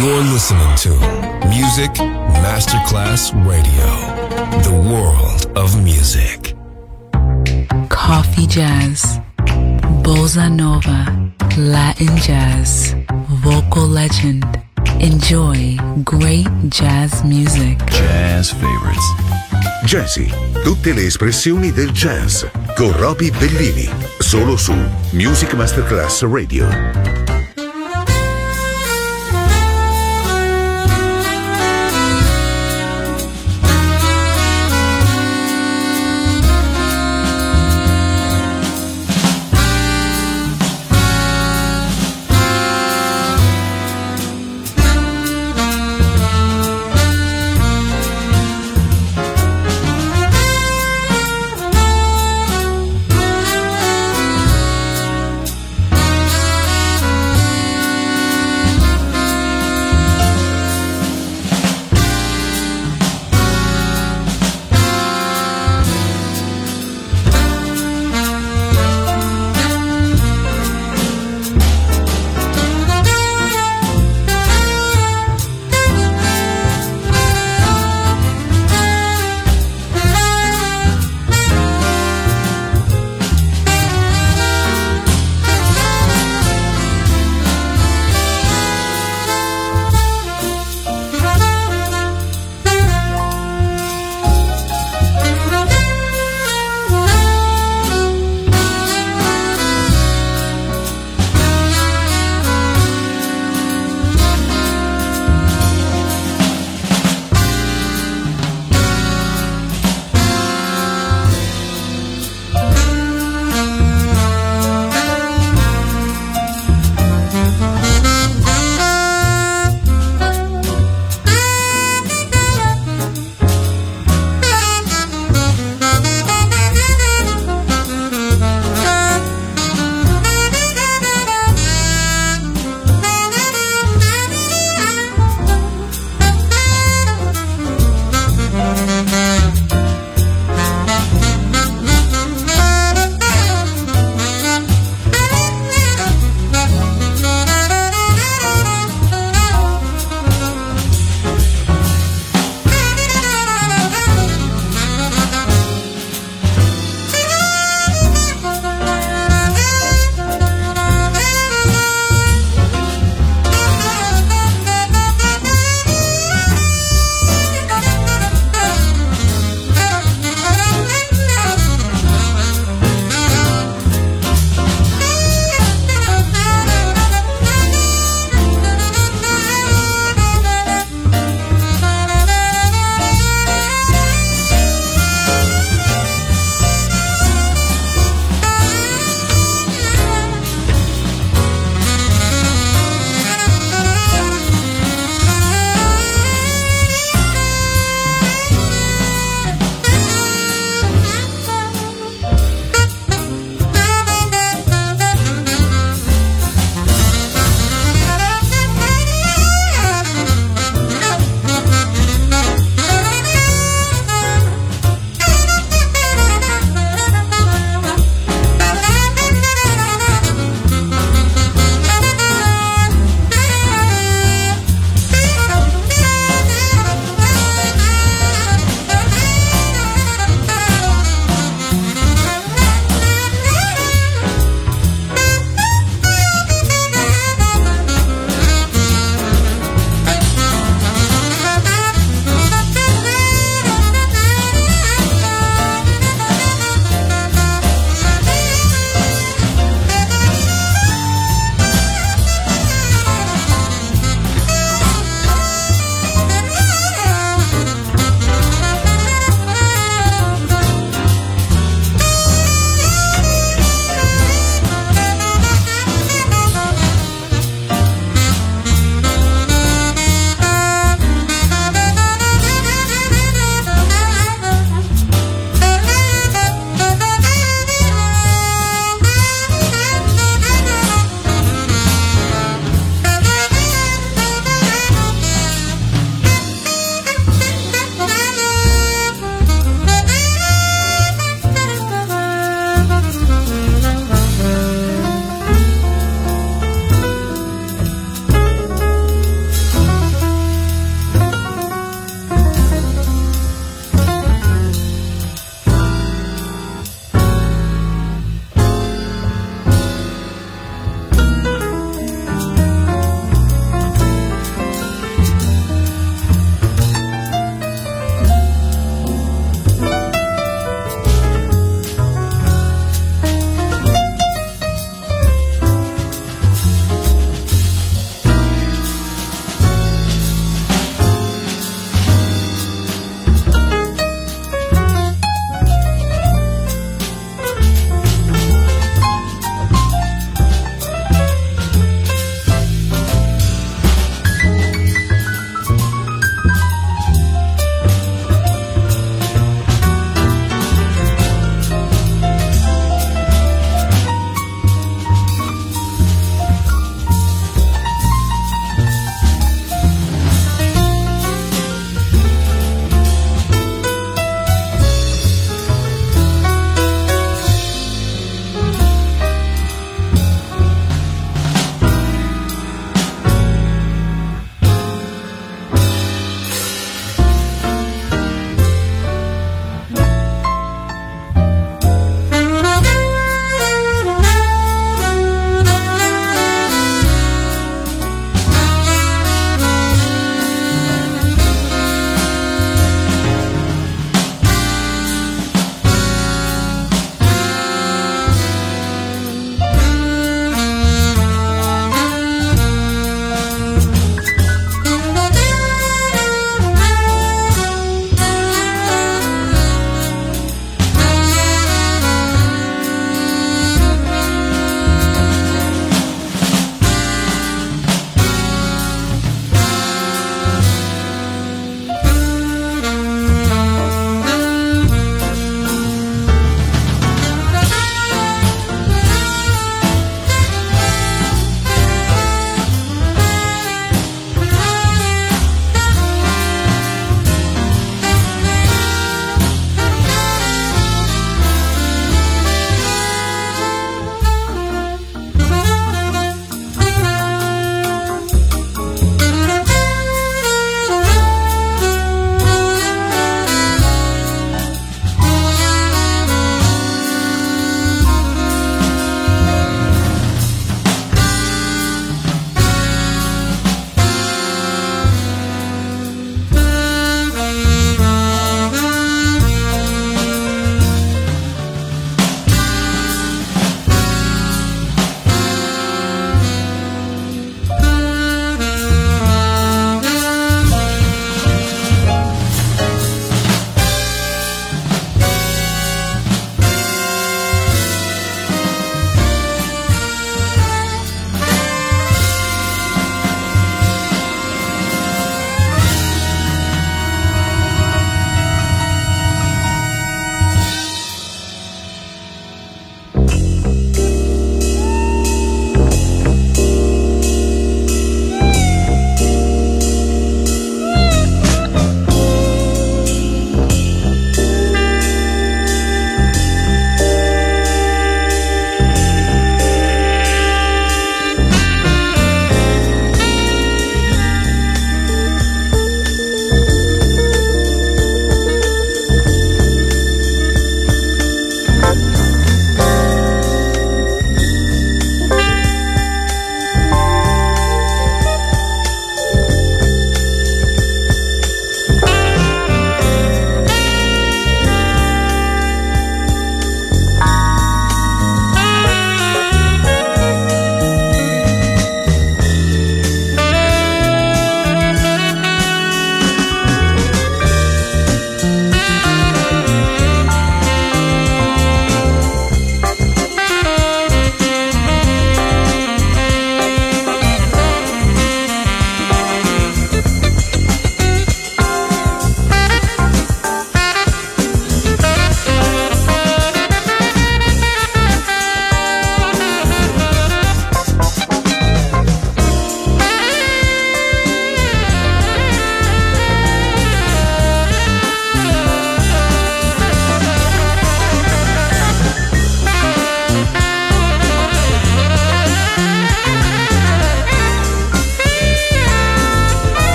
You're listening to Music Masterclass Radio, the world of music. Coffee jazz, bossa nova, Latin jazz, vocal legend. Enjoy great jazz music. Jazz favorites. Jazzy, tutte le espressioni del jazz con Roby Bellini, solo su Music Masterclass Radio.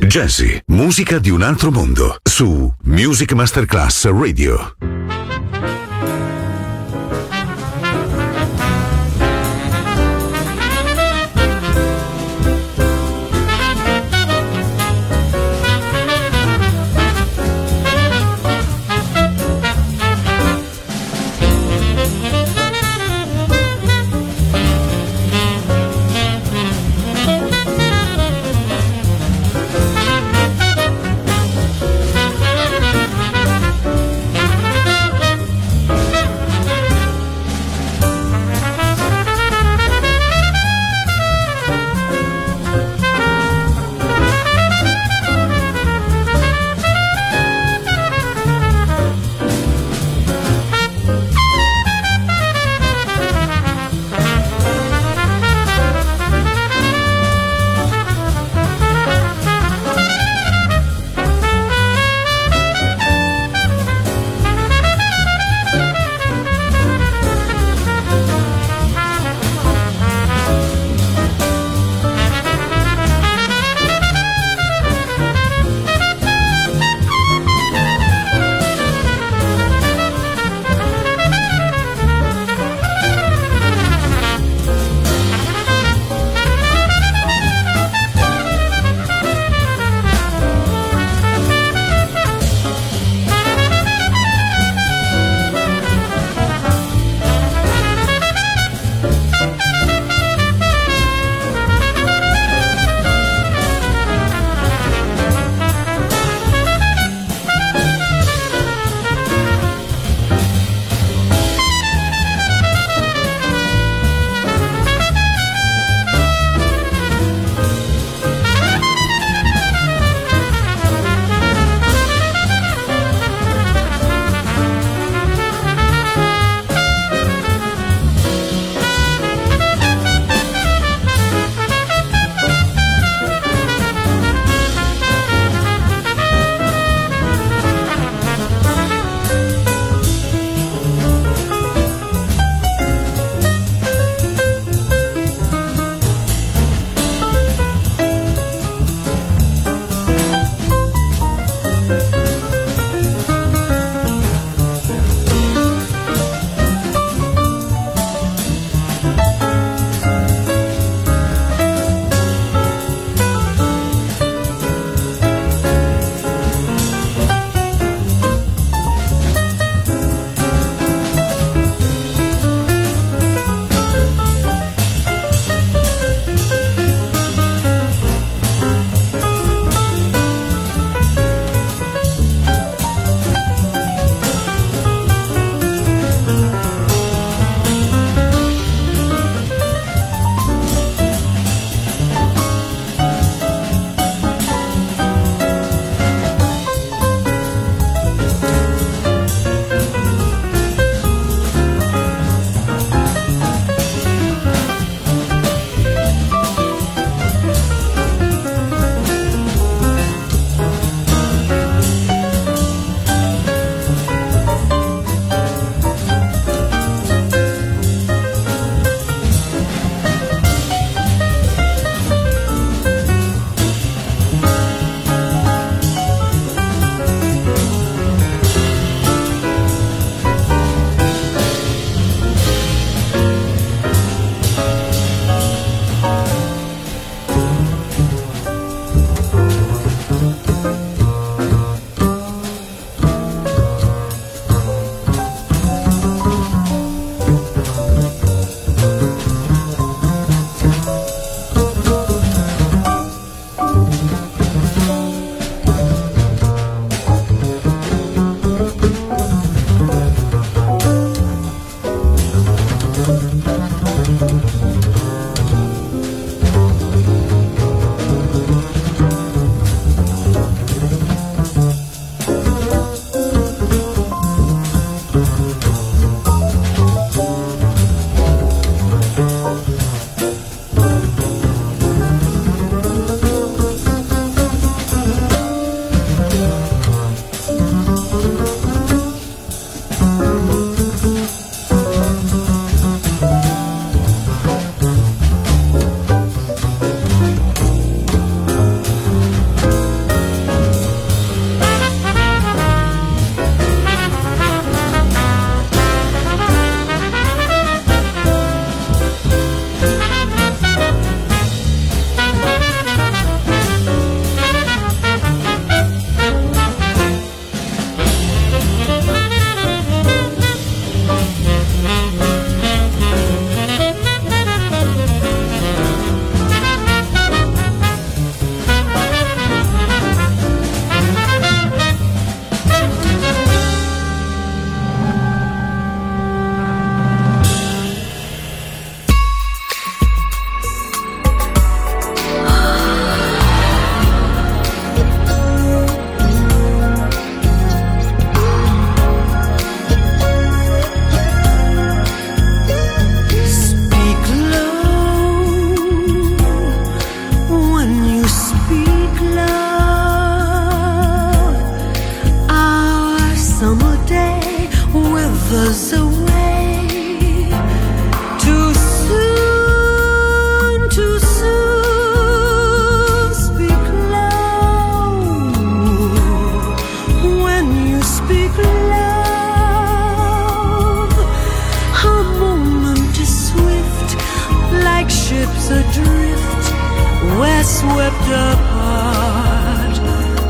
Jazzy, musica di un altro mondo, su Music Masterclass Radio.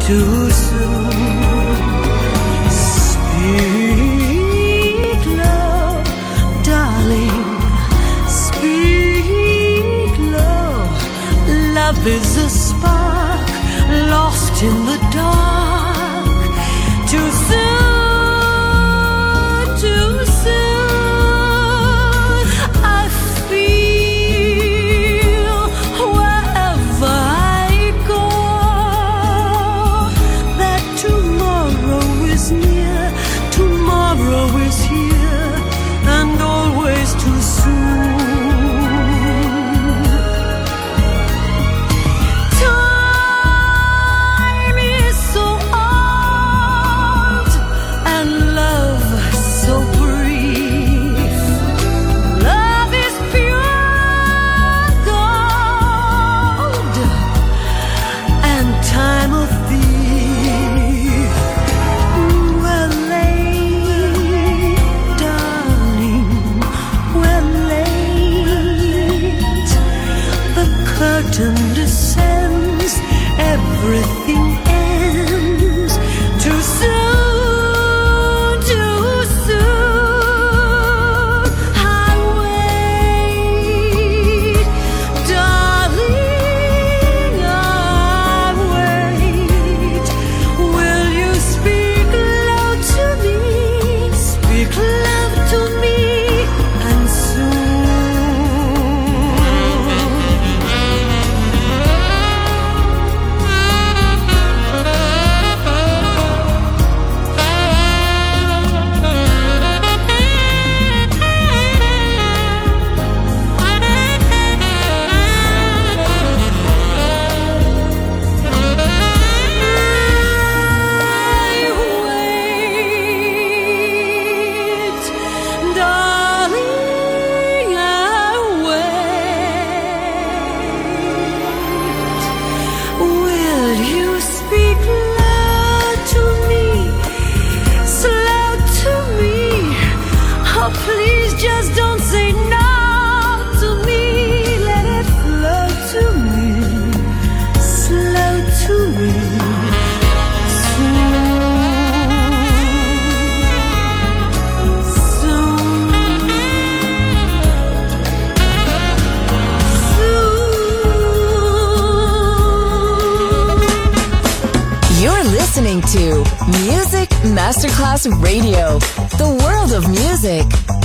too soon. Speak low, darling, speak low. Love is a spark lost in the dark. Too soon, too soon. I feel wherever I go that tomorrow is near, tomorrow is here, and always too soon. Descends, everything ends. Too soon, too soon. I wait, darling, I wait. Will you speak low to me? Speak love to me, and soon. Please just don't say no to me. Let it flow to me, slow to me, soon, soon. You're listening to Music Masterclass Radio, the world of music.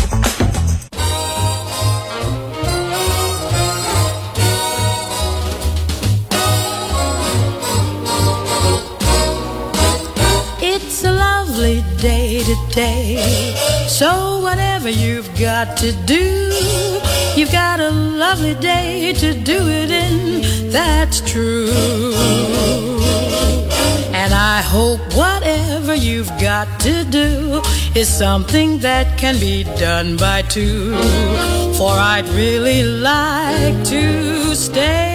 It's a lovely day today, so whatever you've got to do, you've got a lovely day to do it in, that's true. And I hope whatever you've got to do is something that can be done by two, for I'd really like to stay.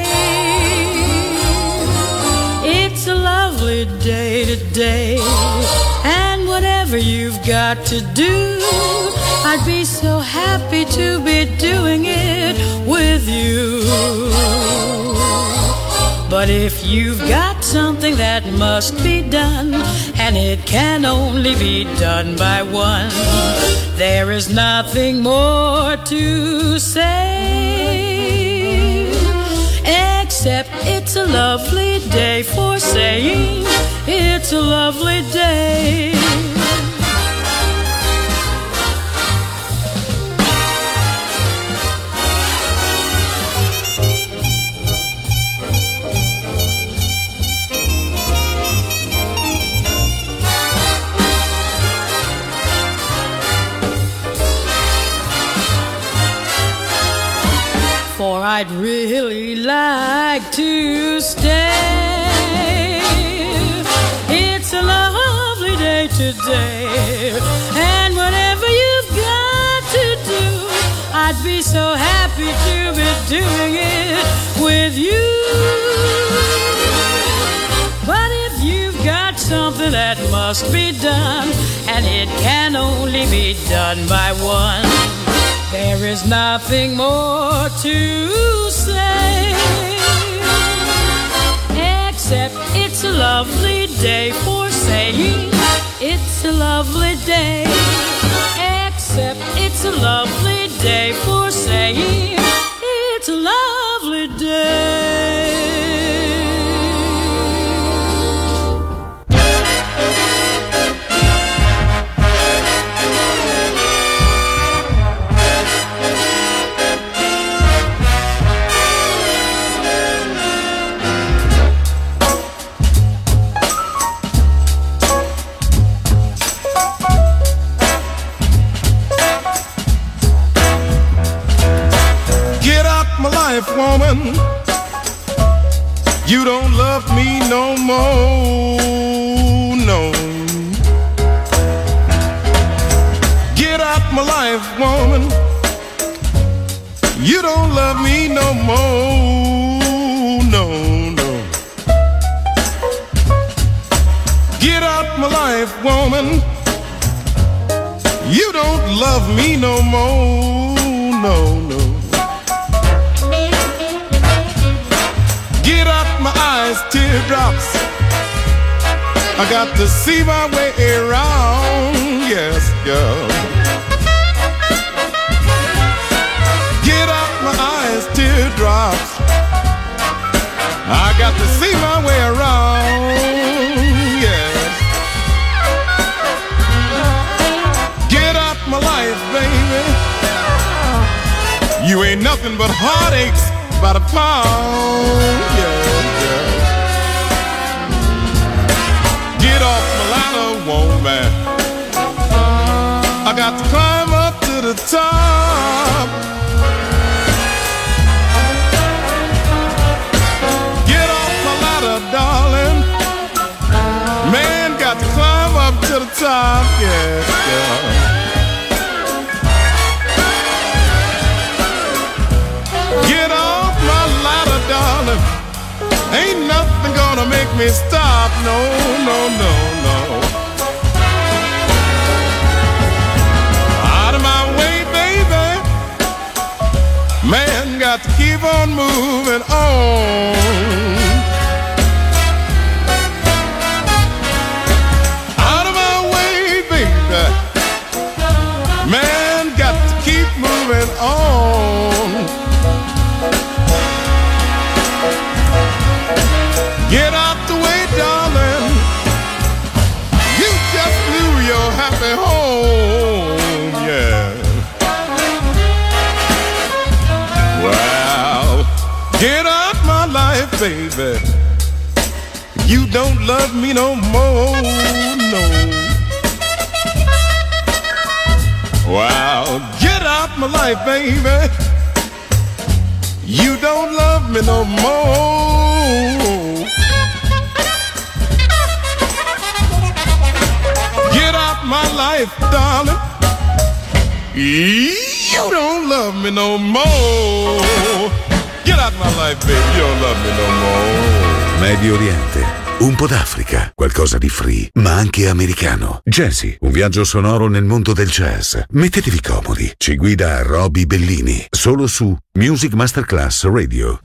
It's a lovely day today, and whatever you've got to do, I'd be so happy to be doing it with you. But if you've got something that must be done, and it can only be done by one, there is nothing more to say, except it's a lovely day for saying it's a lovely day. For I'd really like to stay. It's a lovely day today, and whatever you've got to do, I'd be so happy to be doing it with you. But if you've got something that must be done, and it can only be done by one, there is nothing more to say, except it's a lovely day for saying it's a lovely day. Except it's a lovely day for saying it's a lovely day. Woman, you don't love me no more, no. Get out my life, woman. You don't love me no more, no, no. Get out my life, woman. You don't love me no more, no, no. My eyes, teardrops. I got to see my way around, yes, girl. Get out my eyes, teardrops. I got to see my way around, yes. Get out my life, baby. You ain't nothing but heartaches by the pound, yeah. Get off my ladder, woman. I got to climb up to the top. Get off my ladder, darling. Man, got to climb up to the top, yeah, yeah. Get off my ladder, darling. Ain't nothing gonna make me stop, no, no, no, no. Out of my way, baby. Man, got to keep on moving on. Out of my way, baby. Man, got to keep moving on. Get out the way, darling. You just blew your happy home, yeah. Well, get out my life, baby. You don't love me no more, no. Well, get out my life, baby. You don't love me no more. Get out my life, darling. You don't love me no more. Get out my life, baby. You don't love me no more. Medio Oriente, un po' d'Africa, qualcosa di free, ma anche americano. Jazzy, un viaggio sonoro nel mondo del jazz. Mettetevi comodi. Ci guida Roby Bellini, solo su Music Masterclass Radio.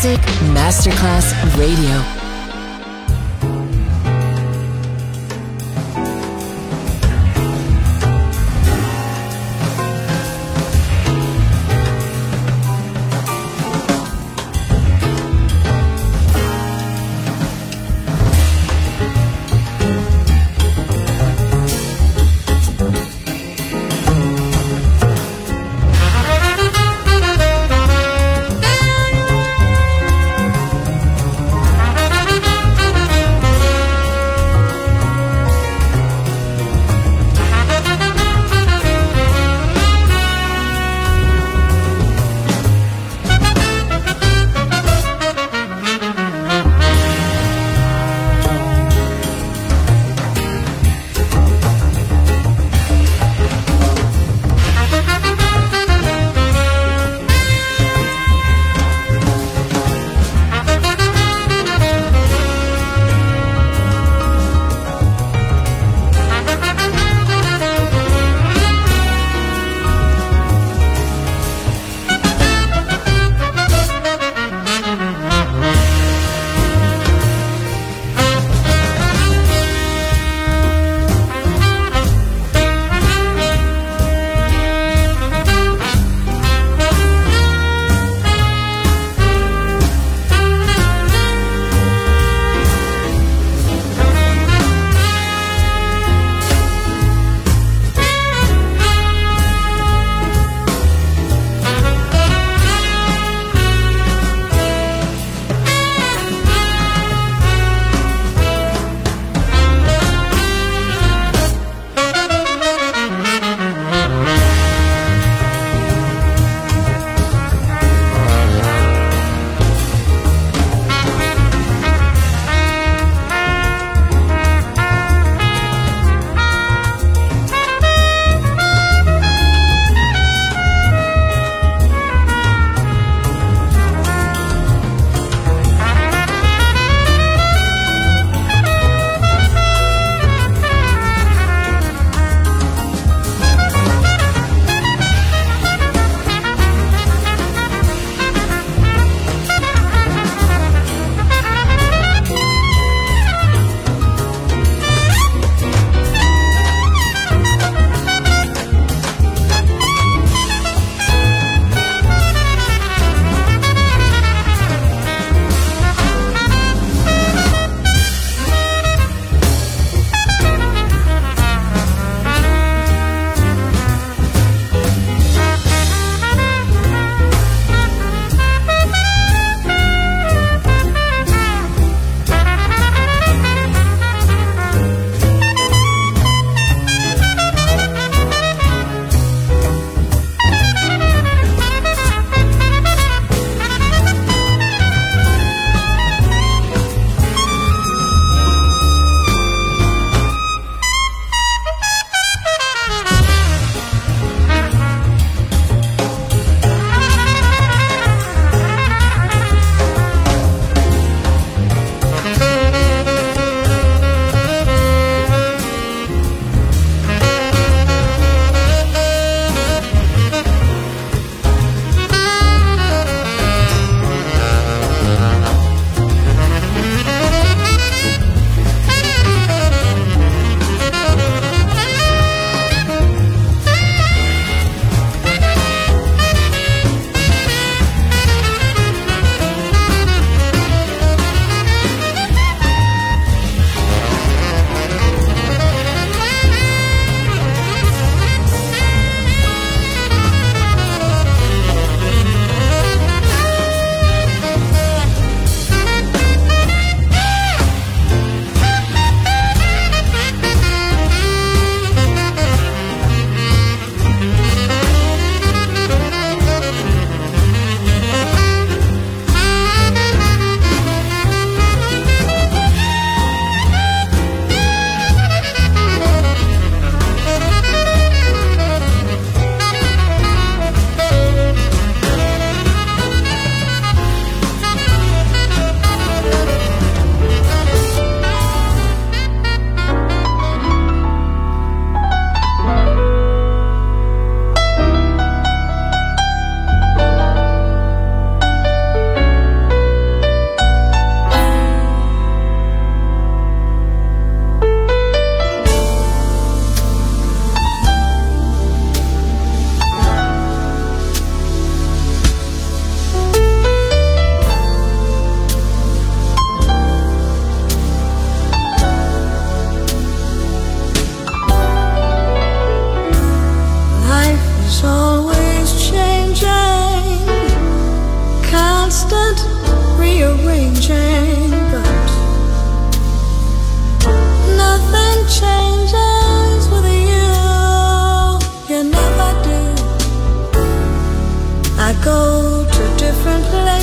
Music Masterclass Radio.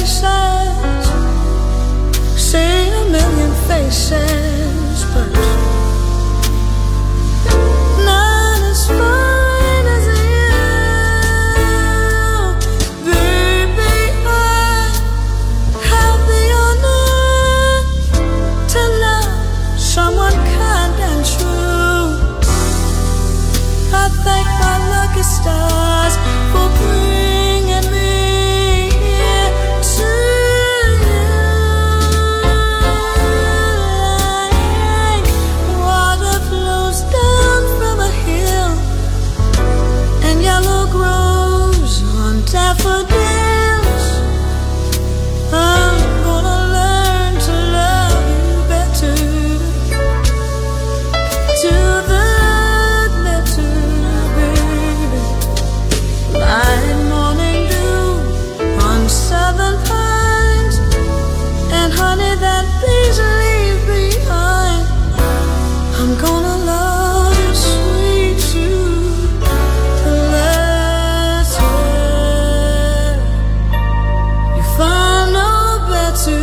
places, see a million faces, but none as fine as you. Baby, I have the honor to love someone kind and true. I thank my lucky stars for bringing me here to you. Water flows down from a hill, and yellow grows on daffodils. I'm gonna learn to love you better, to the letter, baby. Light morning dew on southern pines, and honey that bees leave behind. I'm gonna love you sweet to the letter. You find no better.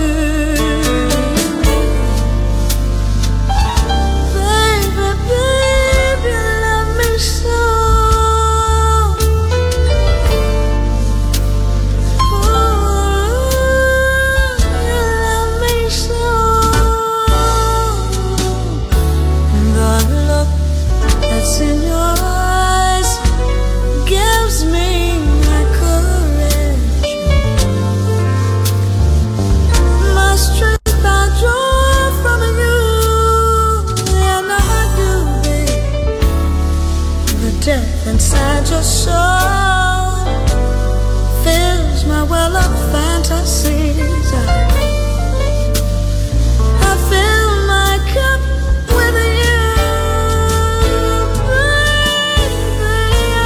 Baby, baby, you love me so. You love me so. The look that's in your eyes gives me my courage, my strength I draw from you, and I do, babe. The depth inside your soul fills my well of fantasies. I fill my cup with you, baby.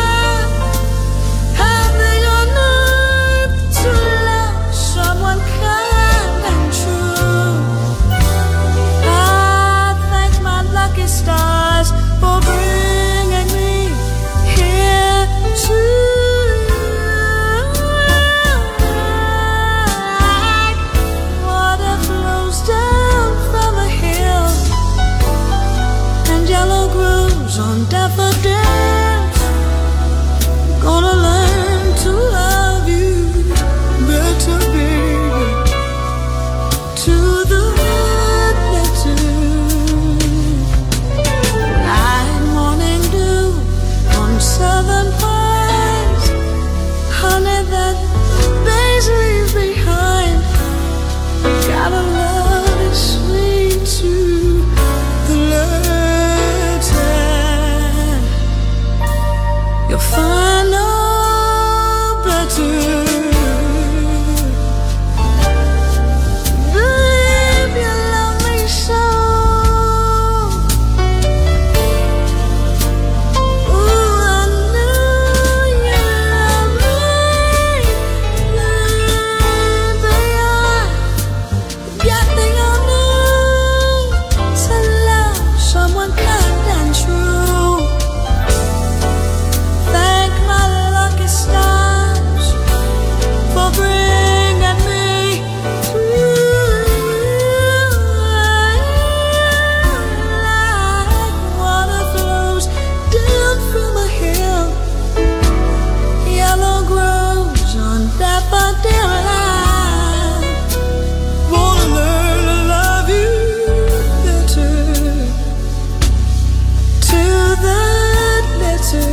I have the honor to love someone kind and true. I thank my lucky stars for bringing me here to you. Like water flows down from a hill, and yellow grows on daffodils. Gonna learn to love you better, baby, to the letter. Light morning dew on southern pines, honey that bees leave behind. Gotta love is sweet to the letter. You'll find no better. Babe, you love me so. Ooh, I know you love me. Baby, I got the honor to love someone kind and true. Thank my lucky stars for bringing me to you. Like water flows down from a hill, yellow grows on daffodil. I wanna learn to love you better, to the letter.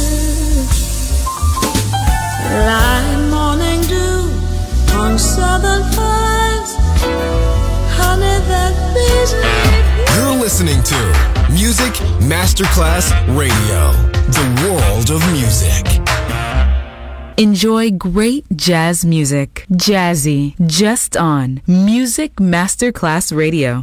Light morning dew on southern pines, honey that bees leave. You're listening to Music Masterclass Radio, the world of music. Enjoy great jazz music. Jazzy, just on Music Masterclass Radio.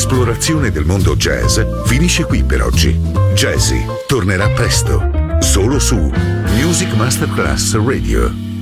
l'esplorazione del mondo jazz finisce qui per oggi. Jazzy tornerà presto, solo su Music Masterclass Radio.